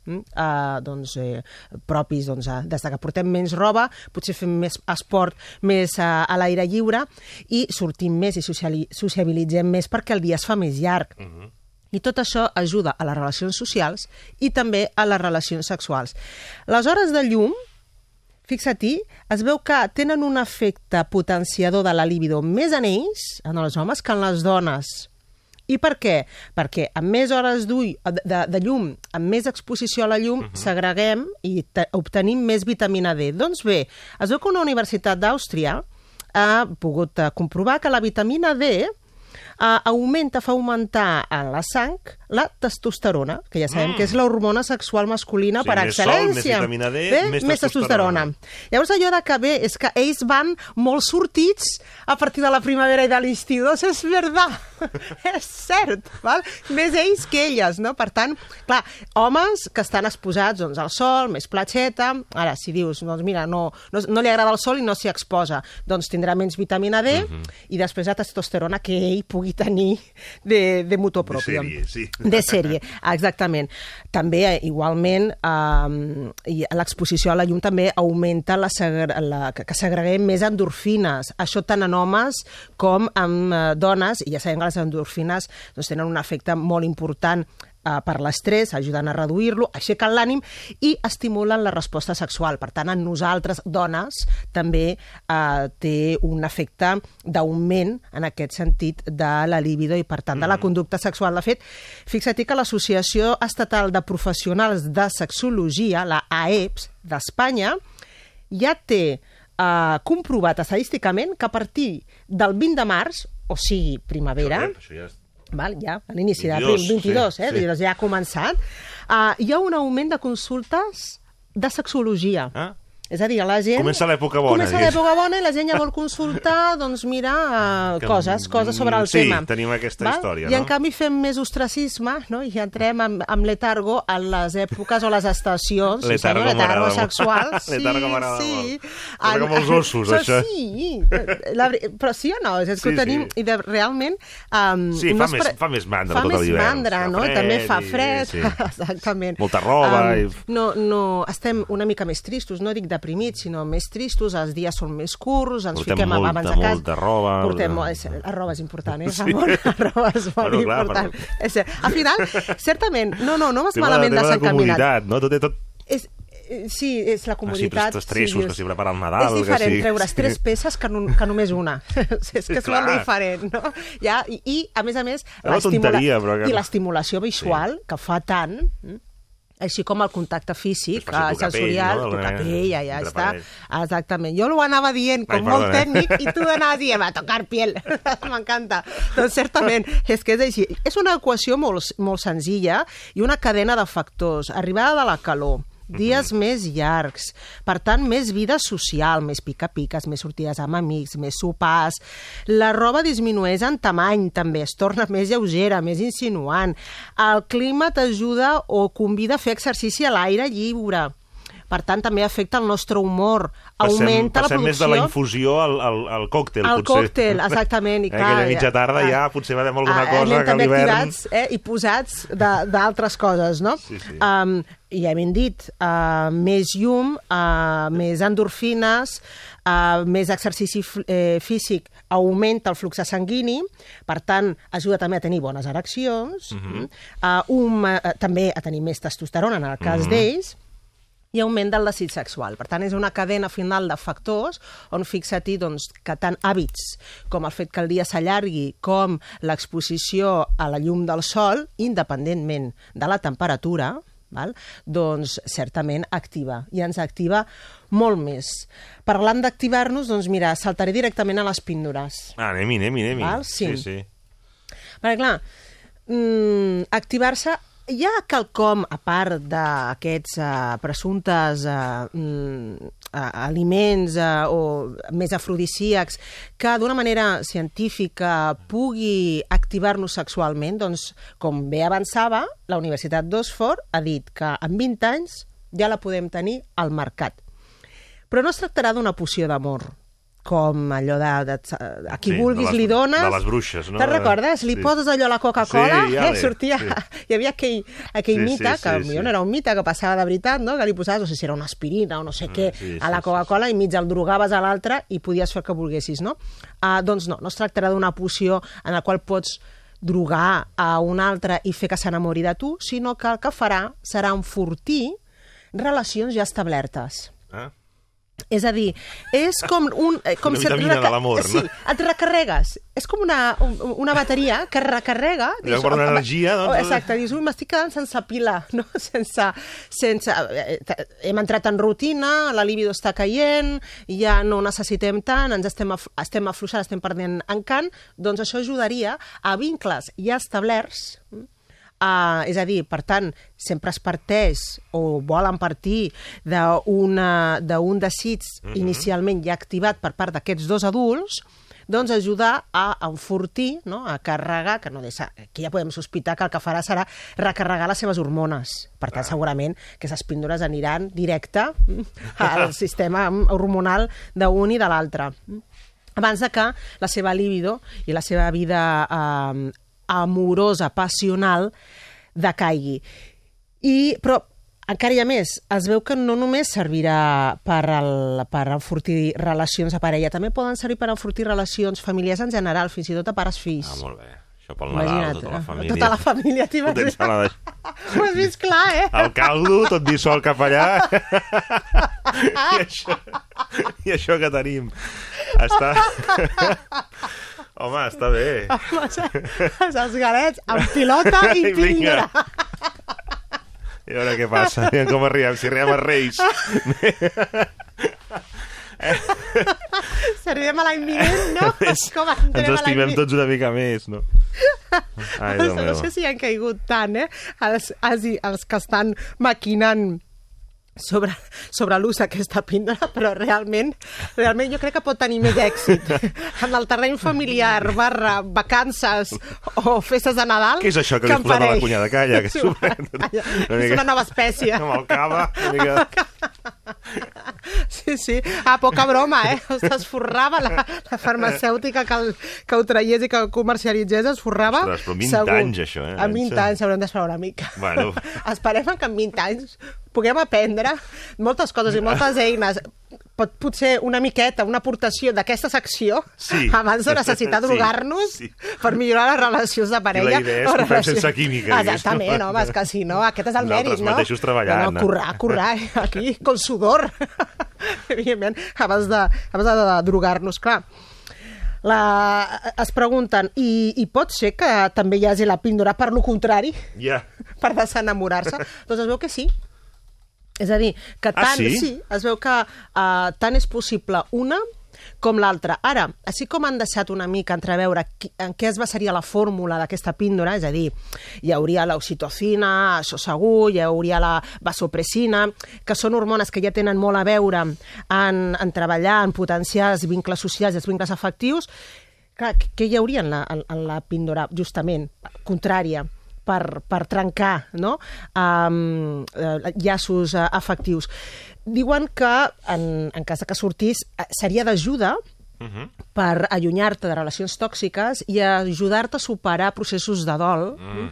propis, des que portem menys roba, potser fem més esport, més a l'aire lliure, i sortim més i sociabilitzem més perquè el dia es fa més llarg. I tot això ajuda a les relacions socials i també a les relacions sexuals. Les hores de llum, fixa-t'hi, es veu que tenen un efecte potenciador de la libido més en ells, en els homes, que en les dones. I per què? Perquè amb més hores de llum, amb més exposició a la llum, segreguem i obtenim més vitamina D. Doncs bé, es veu que una universitat d'Àustria ha pogut comprovar que la vitamina D fa augmentar en la sang la testosterona, que ja sabem que és l'hormona sexual masculina per excel·lència. Més sol, més vitamina D, més testosterona. Llavors allò de que bé és que ells van molt sortits a partir de la primavera i de l'estiu. Doncs és veritat, és cert, val? Més ells que elles, no? Per tant, clar, homes que estan exposats al sol, més platxeta, ara si dius, doncs mira, no li agrada el sol i no s'hi exposa, doncs tindrà menys vitamina D i després la testosterona que ell pugui tenir de motor propi. De sèrie, sí. De sèrie, exactament. També, igualment, l'exposició a la llum també augmenta que segreguem més endorfines. Això tant en homes com en dones, i ja sabem que les endorfines tenen un efecte molt important per l'estrès, ajuden a reduir-lo, aixequen l'ànim i estimulen la resposta sexual. Per tant, en nosaltres, dones, també té un efecte d'augment en aquest sentit de la libido i, per tant, de la conducta sexual. De fet, fixa-t'hi que l'Associació Estatal de Professionals de Sexologia, la AEPS d'Espanya, ja té comprovat estadísticament que a partir del 20 de març, o sigui, primavera, ja, a l'inici de 22, ja ha començat, hi ha un augment de consultes de sexologia. És a dir, la gent... Comença l'època bona. Comença l'època bona i la gent ja vol consultar, doncs mira, coses sobre el tema. Sí, tenim aquesta història, no? I en canvi fem més ostracisme, no? I entrem amb letargo a les èpoques o les estacions. Letargo sexual. Letargo m'agrada molt. És com els ossos, això. Sí, però sí o no? És que ho tenim, i realment... Sí, fa més mandra tot l'hivern. Fa més mandra, no? També fa fred, exactament. Molta roba. No, estem una mica més tristos, no dic deprimits, sinó més tristos, els dies són més curts, ens fiquem abans a casa. Molta roba. La roba és important, Ramon? La roba és molt important. Al final, certament, no vas malament desencaminat. Tema de comunitat, no? Sí, és la comoditat. Els tressos que s'hi prepara el Nadal. És diferent treure's 3 peces que només una. És que és molt diferent, no? I, a més, l'estimulació visual, que fa tant... així com el contacte físic, sensorial, tocar pell, ja està. Exactament. Jo ho anava dient com molt tècnic i tu anaves dient, va, tocar piel. M'encanta. Doncs certament, és que és així. És una equació molt senzilla i una cadena de factors. Arribada de la calor, dies més llargs, per tant, més vida social, més pica-piques, més sortides amb amics, més sopars. La roba disminueix en tamany, també, es torna més lleugera, més insinuant. El clima t'ajuda o convida a fer exercici a l'aire lliure. Per tant, també afecta el nostre humor, augmenta la producció... Passem més de la infusió al còctel, potser. Al còctel, exactament. Aquella mitja tarda ja potser va haver alguna cosa que a l'hivern... I posats d'altres coses, no? Sí. I ja hem dit, més llum, més endorfines, més exercici físic augmenta el flux sanguini, per tant, ajuda també a tenir bones ereccions, també a tenir més testosterona en el cas d'ells, i augment del desig sexual. Per tant, és una cadena final de factors on fixa-t'hi que tant hàbits com el fet que el dia s'allargui com l'exposició a la llum del sol, independentment de la temperatura, doncs certament activa, i ens activa molt més. Parlant d'activar-nos, doncs mira, saltaré directament a les píndoles. Anem-hi. Sí. Perquè clar, activar-se hi ha quelcom, a part d'aquests presumptes aliments o més afrodisíacs, que d'una manera científica pugui activar-nos sexualment? Doncs, com bé avançava, la Universitat d'Oxford ha dit que en 20 anys ja la podem tenir al mercat. Però no es tractarà d'una poció d'amor, com allò de a qui vulguis li dones... De les bruixes, no? Te'n recordes? Li poses allò a la Coca-Cola, sortia... Sí. Hi havia aquell mite, que potser no era un mite, que passava de veritat, no? Que li posaves, no sé si era una aspirina o no sé què, a la Coca-Cola i mig el drogaves a l'altre i podies fer el que volguessis, no? Doncs no es tractarà d'una poció en la qual pots drogar a un altre i fer que s'enamori de tu, sinó que el que farà serà enfortir relacions ja establertes. És a dir, és com un... Una vitamina de l'amor, no? Sí, et recarregues. És com una bateria que recarrega... I per una energia, doncs... Exacte, dius, m'estic quedant sense pila, no? Hem entrat en rutina, la libido està caient, ja no necessitem tant, ens estem afluixant, estem perdent encant, doncs això ajudaria a vincles ja establerts. És a dir, per tant, sempre es parteix o volen partir d'un desig inicialment ja activat per part d'aquests dos adults, doncs ajudar a enfortir, no? A carregar, que no aquí ja podem sospitar que el que farà serà recarregar les seves hormones. Per tant, segurament que aquestes píndoles aniran directe al sistema hormonal d'un i de l'altre. Abans de que la seva libido i la seva vida amorosa, passional, decaigui. Però encara hi ha més. Es veu que no només servirà per enfortir relacions a parella, també poden servir per enfortir relacions familiars en general, fins i tot a pares-fills. Molt bé. Això pel Nadal, tota la família. Tota la família, t'hi vas dir. Ho has vist clar, El caldo, tot dissol cap allà. I això que tenim. Home, està bé. Els galets amb pilota i píldora. I a veure què passa, com arribem, si arribem a Reis. Si arribem a l'any vinent, no? Ens estimem tots una mica més, no? No sé si han caigut tant, els que estan maquinant sobre l'ús d'aquesta píndola, però realment jo crec que pot tenir més èxit en el terreny familiar, vacances o festes de Nadal. Què és això que li has posat a la cunyada? Calla, que és una nova espècie. Amb el cava, una mica... Sí. Poca broma, es forrava la farmacèutica que ho traiés i que ho comercialitzés, es forrava. Ostres, però 20 anys, això, En 20 anys haurem d'esperar una mica. Bueno. Esperem que en 20 anys puguem aprendre moltes coses i moltes eines. Potser una miqueta, una aportació d'aquesta secció abans de necessitar drogar-nos per millorar les relacions de parella. I la idea és que ho fem sense química. Exactament, home, és que si no, aquest és el mèrit, no? Nosaltres mateixos treballant. Currar, aquí, con sudor. Evidentment, abans de drogar-nos, clar. Es pregunten, i pot ser que també hi hagi la píndola per lo contrari? Per desenamorar-se? Doncs es veu que sí. És a dir, que tant, es veu que tant és possible una com l'altra. Ara, així com han deixat una mica entreveure en què es basaria la fórmula d'aquesta píndola, és a dir, hi hauria l'oxitocina, això segur, hi hauria la vasopressina, que són hormones que ja tenen molt a veure en treballar, en potenciar els vincles socials i els vincles afectius. Clar, què hi hauria en la píndola, justament, contrària? Per trencar, no? Llaços afectius. Diuen que, en cas que sortís, seria d'ajuda per allunyar-te de relacions tòxiques i ajudar-te a superar processos de dol,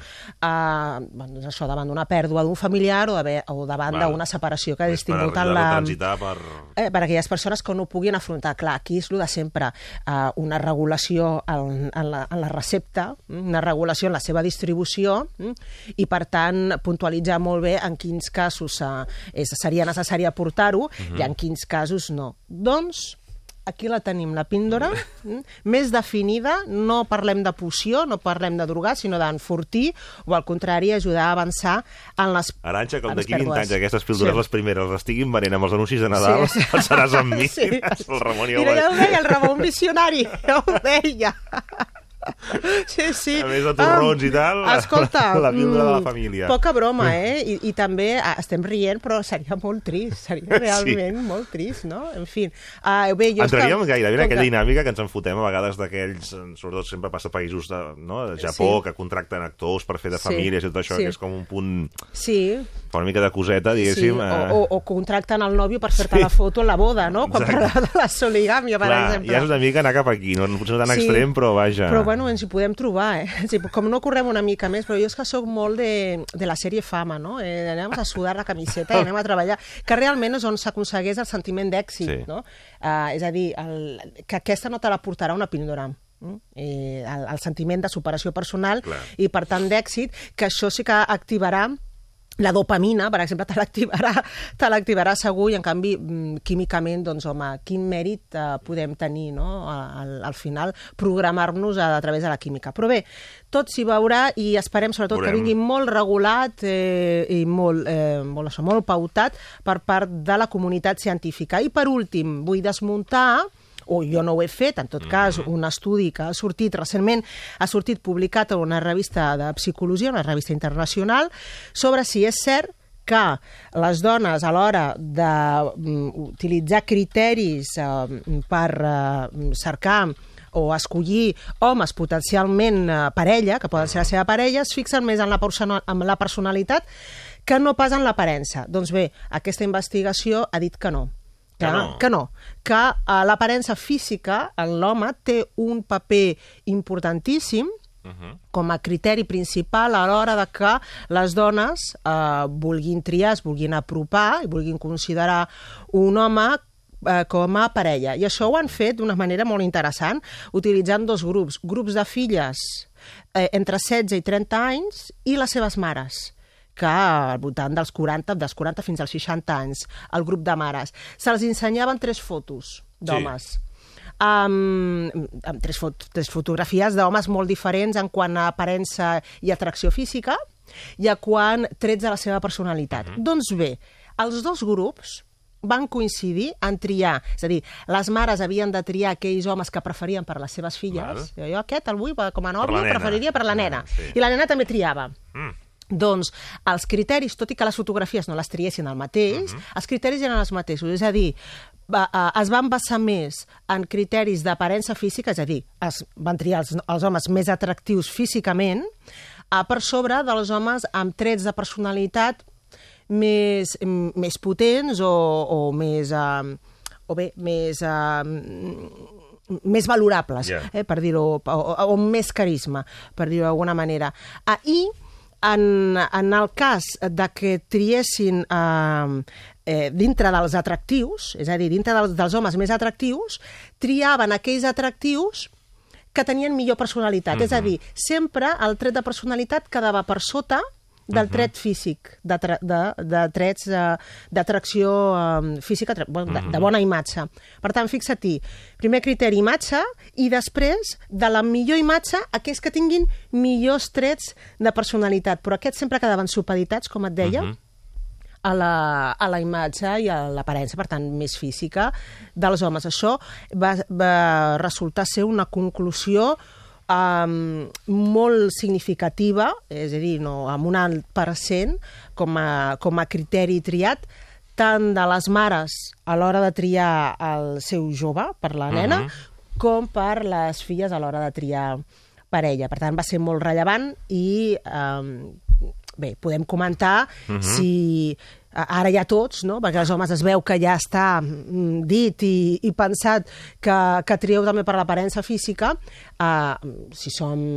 això davant d'una pèrdua d'un familiar o davant d'una separació que hagis tingut per aquelles persones que no ho puguin afrontar. Clar, aquí és el de sempre, una regulació en la recepta, una regulació en la seva distribució i, per tant, puntualitzar molt bé en quins casos seria necessari aportar-ho i en quins casos no. Doncs, aquí la tenim, la píndola, més definida, no parlem de poció, no parlem de drogar, sinó d'enfortir, o al contrari, ajudar a avançar en les pèrdues. Arantxa, com d'aquí 20 anys aquestes píldores, les primeres, les estiguin venent amb els anuncis de Nadal, pensaràs en mi. El Ramon Mira, ja ho deia, el Ramon visionari, ja ho deia. Sí. A més de torrons i tal, escolta, la píldora de la família. Poca broma, I també estem rient, però seria molt trist, seria realment molt trist, no? En fi. Entraríem gairebé en aquella dinàmica que ens enfotem a vegades d'aquells, sobretot sempre passa a països de Japó, que contracten actors per fer de famílies i tot això, que és com un punt... Sí. Fa una mica de coseta, diguéssim. O contracten el nòvio per fer-te la foto en la boda, no? Quan parlàvem de la soligàmia, per exemple. Ja és una mica anar cap aquí, potser no tan extrem, però vaja. Però bueno, ens hi podem trobar, Com no correm una mica més, però jo és que sóc molt de la sèrie Fama, no? Anem a sudar la camiseta i anem a treballar, que realment és on s'aconsegueix el sentiment d'èxit, no? És a dir, que aquesta no te la portarà una píldora. El sentiment de superació personal i, per tant, d'èxit, que això sí que activarà la dopamina, per exemple, te l'activarà segur, i en canvi, químicament, doncs, home, quin mèrit podem tenir, no? Al final, programar-nos a través de la química. Però bé, tot s'hi veurà i esperem, sobretot, que vingui molt regulat i molt pautat per part de la comunitat científica. I, per últim, vull desmuntar, o jo no ho he fet, en tot cas, un estudi que ha sortit recentment, ha sortit publicat en una revista de psicologia, una revista internacional, sobre si és cert que les dones, a l'hora d'utilitzar criteris per cercar o escollir homes potencialment parella, que poden ser la seva parella, es fixen més en la personalitat que no pas en l'aparença. Doncs bé, aquesta investigació ha dit que no. Que l'aparença física en l'home té un paper importantíssim com a criteri principal a l'hora de que les dones vulguin triar, es vulguin apropar i vulguin considerar un home com a parella. I això ho han fet d'una manera molt interessant, utilitzant dos grups de filles entre 16 i 30 anys i les seves mares, que al voltant dels 40 fins als 60 anys, el grup de mares. Se'ls ensenyaven 3 fotos d'homes. Amb 3 fotografies d'homes molt diferents en quant a aparença i atracció física i a quant trets de la seva personalitat. Doncs bé, els dos grups van coincidir en triar. És a dir, les mares havien de triar aquells homes que preferien per les seves filles. Jo aquest el vull com a nòvio, preferiria per la nena. I la nena també triava. Doncs els criteris, tot i que les fotografies no les triessin el mateix, els criteris eren els mateixos. És a dir, es van basar més en criteris d'aparença física, és a dir, es van triar els homes més atractius físicament per sobre dels homes amb trets de personalitat més potents o més valorables, per dir-ho, o més carisma, per dir-ho d'alguna manera. I en el cas de que triessin dintre dels atractius, és a dir, dintre dels homes més atractius, triaven aquells atractius que tenien millor personalitat. És a dir, sempre el tret de personalitat quedava per sota del tret físic, de trets d'atracció física, de bona imatge. Per tant, fixa-t'hi, primer criteri imatge i després, de la millor imatge, aquells que tinguin millors trets de personalitat. Però aquests sempre quedaven supeditats, com et deia, a la imatge i a l'aparença, per tant, més física dels homes. Això va resultar ser una conclusió molt significativa, és a dir, amb un alt % com a criteri triat, tant de les mares a l'hora de triar el seu jove per la nena, com per les filles a l'hora de triar parella. Per tant, va ser molt rellevant i bé, podem comentar si ara ja tots, no? Perquè els homes es veu que ja està dit i pensat que trieu també per l'aparença física, si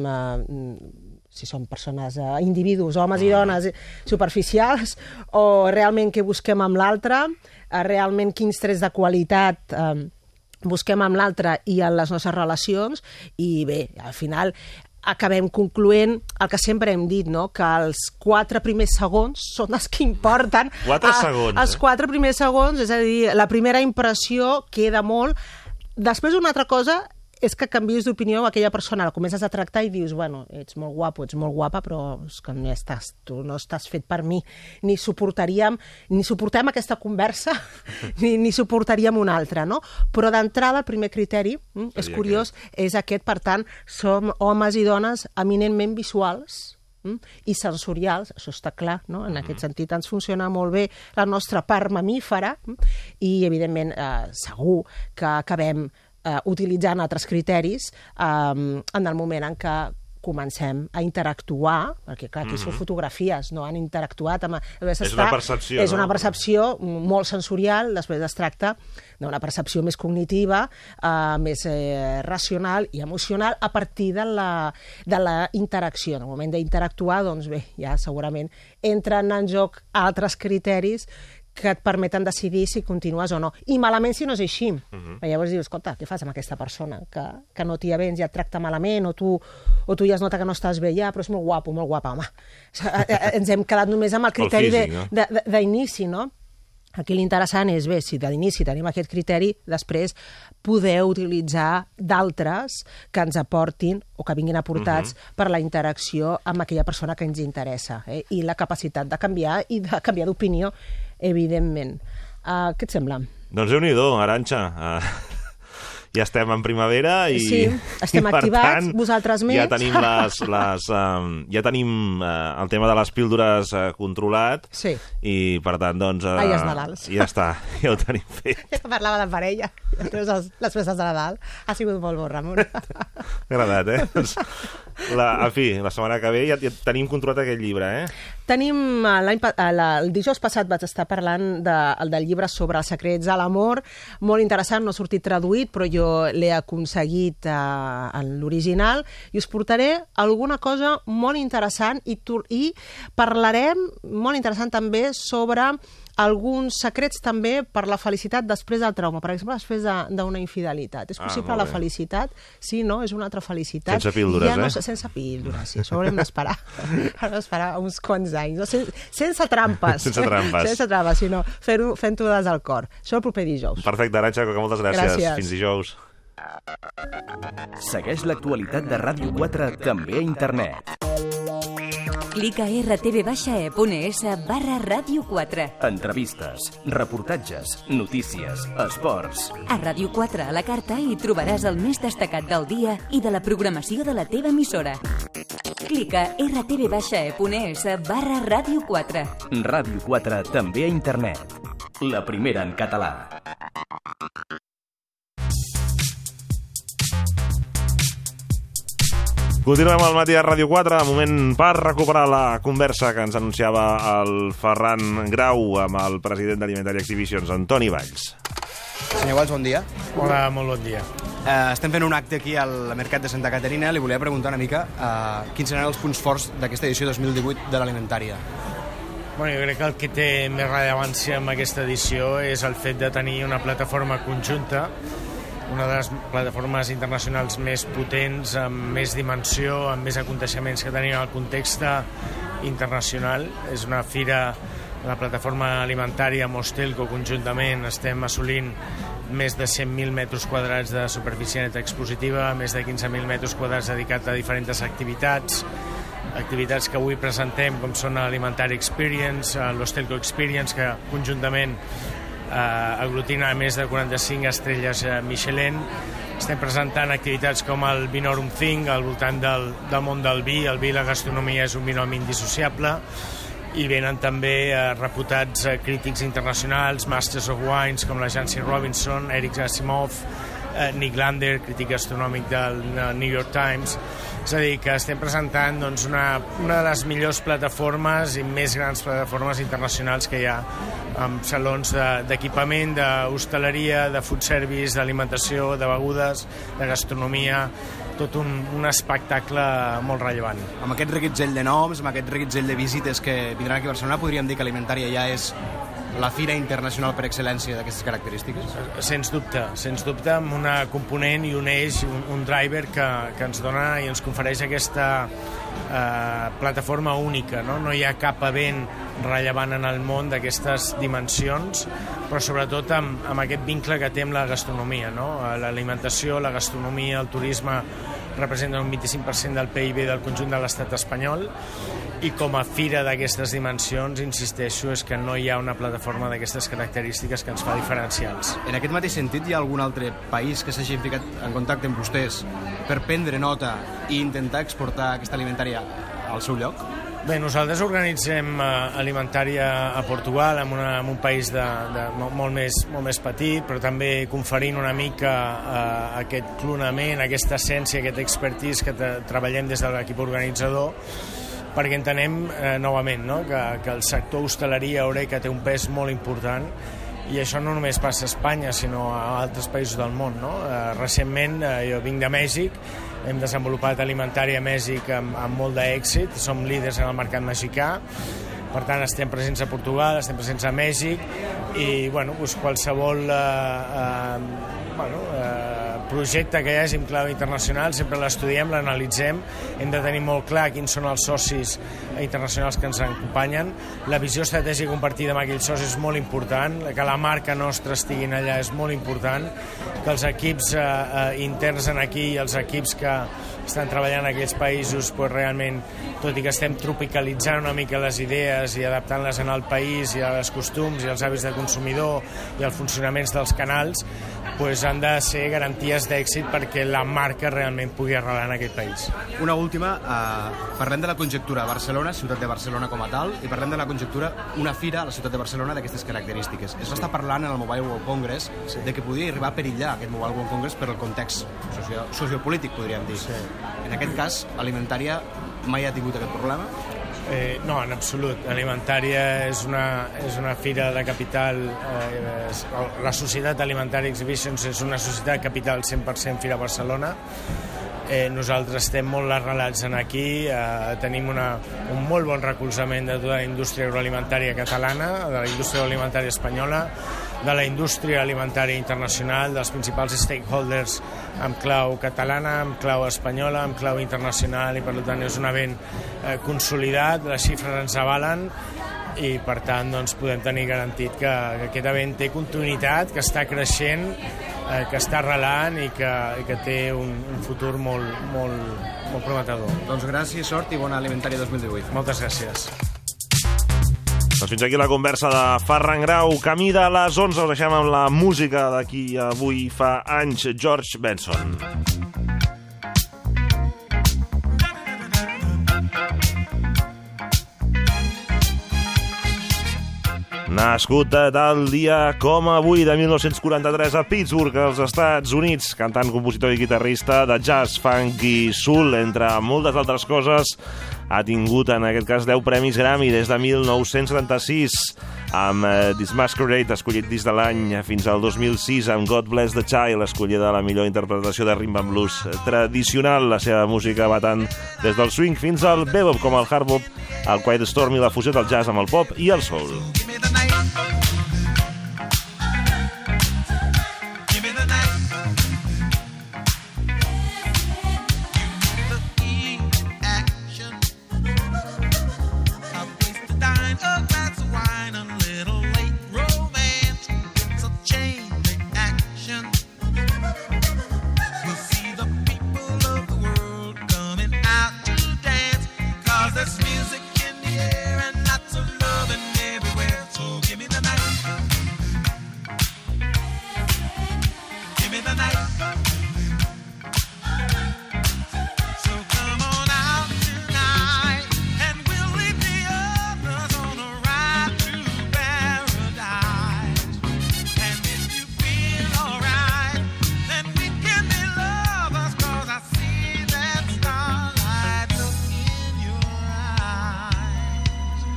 som persones, individus, homes i dones superficials, o realment què busquem amb l'altre, realment quins trets de qualitat busquem amb l'altre i en les nostres relacions, i bé, al final acabem concloent el que sempre hem dit, no? Que els 4 primers segons són els que importen. 4 segons, Els 4 primers segons, és a dir, la primera impressió queda molt. Després una altra cosa és que canvies d'opinió, aquella persona la comences a tractar i dius, bueno, ets molt guapo, ets molt guapa, però és que tu no estàs fet per mi. Ni suportem aquesta conversa, ni suportaríem una altra, no? Però d'entrada, el primer criteri, és curiós, és aquest, per tant, som homes i dones eminentment visuals, i sensorials, això està clar, no? En aquest sentit ens funciona molt bé la nostra part mamífera i, evidentment, segur que acabem utilitzant altres criteris en el moment en què comencem a interactuar, perquè clar, aquí són fotografies, no han interactuat amb... És una percepció, no? És una percepció molt sensorial, després es tracta d'una percepció més cognitiva, més racional i emocional a partir de la interacció. En el moment d'interactuar, doncs bé, ja segurament entren en joc altres criteris que et permeten decidir si continues o no. I malament si no és així. Llavors dius, escolta, què fas amb aquesta persona que no t'hi avens, ja et tracta malament, o tu ja es nota que no estàs bé ja, però és molt guapo, home. Ens hem quedat només amb el criteri d'inici, no? Aquí l'interessant és, bé, si d'inici tenim aquest criteri, després poder utilitzar d'altres que ens aportin o que vinguin aportats per la interacció amb aquella persona que ens interessa, i la capacitat de canviar i de canviar d'opinió, evidentment. Què et sembla? Doncs Déu-n'hi-do, Arantxa. Ja estem en primavera i... Sí, estem activats, vosaltres més. Ja tenim ja tenim el tema de les píldores controlat. Sí. I, per tant, doncs... Ai, els Nadals. Ja està, ja ho tenim fet. Parlava de parella, les festes de Nadal. Ha sigut molt bo, Ramon. M'ha agradat, eh? En fi, la setmana que ve ja tenim controlat aquest llibre, eh? Tenim, el dijous passat vaig estar parlant del llibre sobre els secrets de l'amor, molt interessant, no ha sortit traduït, però jo l'he aconseguit en l'original, i us portaré alguna cosa molt interessant i parlarem, molt interessant també, sobre alguns secrets també per la felicitat després del trauma, per exemple, després d'una infidelitat. És possible la felicitat? Sí, no? És una altra felicitat. Sense píldores, Sense píldores, sí. Això haurem d'esperar. Haurem d'esperar uns quants anys. No? Sense trampes. Sense trampes, sinó fent-ho des del cor. Això el proper dijous. Perfecte, Arantxa, moltes gràcies. Fins dijous. Segueix l'actualitat de Ràdio 4 també a internet. Clica a rtv-e.es/Ràdio 4. Entrevistes, reportatges, notícies, esports. A Ràdio 4 a la carta hi trobaràs el més destacat del dia i de la programació de la teva emissora. Clica a rtv-e.es/Ràdio 4. Ràdio 4 també a internet. La primera en català. Continuem al matí a Ràdio 4, moment per recuperar la conversa que ens anunciava el Ferran Grau amb el president d'Alimentari Exhibitions, Antoni Valls. Senyor Valls, bon dia. Hola, molt bon dia. Estem fent un acte aquí al Mercat de Santa Caterina. Li volia preguntar una mica quins seran els punts forts d'aquesta edició 2018 de l'Alimentària. Bueno, jo crec que el que té més rellevància en aquesta edició és el fet de tenir una plataforma conjunta, una de les plataformes internacionals més potents, amb més dimensió, amb més aconteixements que tenim al context internacional. És una fira, la plataforma alimentària amb Hostelco conjuntament estem assolint més de 100.000 metres quadrats de superfície neta expositiva, més de 15.000 metres quadrats dedicats a diferents activitats que avui presentem, com són l'Alimentari Experience, l'Hostelco Experience, que conjuntament aglutina més de 45 estrelles Michelin. Estem presentant activitats com el Vinorum Thing al voltant del món del vi. El vi i la gastronomia és un binomi indissociable, i venen també reputats crítics internacionals, Masters of Wines com la Jancy Robinson, Eric Asimov, Nick Lander, crític gastronòmic del New York Times. És a dir, que estem presentant doncs, una de les millors plataformes i més grans plataformes internacionals que hi ha, amb salons d'equipament, d'hostaleria, de food service, d'alimentació, de begudes, de gastronomia, tot un espectacle molt rellevant. Amb aquest reguitzell de noms, amb aquest reguitzell de visites que vindran aquí a Barcelona, podríem dir que Alimentària ja és la fira internacional per excel·lència d'aquestes característiques? Sens dubte, amb una component i un eix, un driver que ens dona i ens confereix aquesta plataforma única. No hi ha cap event rellevant en el món d'aquestes dimensions, però sobretot amb aquest vincle que té amb la gastronomia. L'alimentació, la gastronomia, el turisme representen un 25% del PIB del conjunt de l'estat espanyol, i com a fira d'aquestes dimensions, insisteixo, és que no hi ha una plataforma d'aquestes característiques que ens fa diferencials. En aquest mateix sentit, hi ha algun altre país que s'hagi ficat en contacte amb vostès per prendre nota i intentar exportar aquesta alimentària al seu lloc? Bé, nosaltres organitzem alimentària a Portugal, en un país molt més petit, però també conferint una mica aquest clonament, aquesta essència, aquest expertise que treballem des de l'equip organitzador, perquè entenem novament que el sector hostaleria Eureka té un pes molt important, i això no només passa a Espanya, sinó a altres països del món. Recentment, jo vinc de Mèxic, hem desenvolupat alimentària a Mèxic amb molt d'èxit, som líders en el mercat mexicà, per tant estem presents a Portugal, estem presents a Mèxic, i qualsevol projecte que hi hagi en clau internacional sempre l'estudiem, l'analitzem, hem de tenir molt clar quins són els socis internacionals que ens acompanyen, la visió estratègica compartida amb aquells socis és molt important, que la marca nostra estiguin allà és molt important, que els equips interns aquí i els equips que estan treballant en aquells països realment, tot i que estem tropicalitzant una mica les idees i adaptant-les en el país i als costums i als hàbits de consumidor i als funcionaments dels canals, han de ser garanties d'èxit perquè la marca realment pugui arrelar en aquest país. Una última, parlem de la conjectura Barcelona, ciutat de Barcelona com a tal, i parlem de la conjectura una fira a la ciutat de Barcelona d'aquestes característiques. Es va estar parlant en el Mobile World Congress de que podia arribar a perillar aquest Mobile World Congress per el context sociopolític, podríem dir. Sí. En aquest cas, alimentària mai ha tingut aquest problema? No, en absolut. Alimentària és una fira de capital, la Societat Alimentària Exhibitions és una societat de capital 100% Fira Barcelona. Nosaltres estem molt arrelats aquí, tenim un molt bon recolzament de tota la indústria agroalimentària catalana, de la indústria agroalimentària espanyola, de la indústria alimentària internacional, dels principals stakeholders amb clau catalana, amb clau espanyola, amb clau internacional, i per tant és un event consolidat, les xifres ens avalen, i per tant podem tenir garantit que aquest event té continuïtat, que està creixent, que està arrelant i que té un futur molt prometedor. Doncs gràcies, sort i bona alimentària 2018. Moltes gràcies. Doncs fins aquí la conversa de Ferran Grau. Camí de les 11, us deixem amb la música d'aquí avui fa anys, George Benson. Nascut tal dia com avui de 1943 a Pittsburgh, als Estats Units, cantant, compositor i guitarrista de jazz, funk i soul, entre moltes altres coses, ha tingut en aquest cas 10 premis Grammy des de 1976, amb This Masquerade, escollit disc de l'any, fins al 2006, amb God Bless the Child, escollida la millor interpretació de rhythm and blues tradicional. La seva música va tant des del swing fins al bebop, com el hard bop, el Quiet Storm i la fusió del jazz amb el pop i el soul.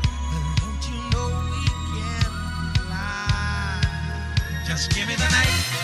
Just give me the night.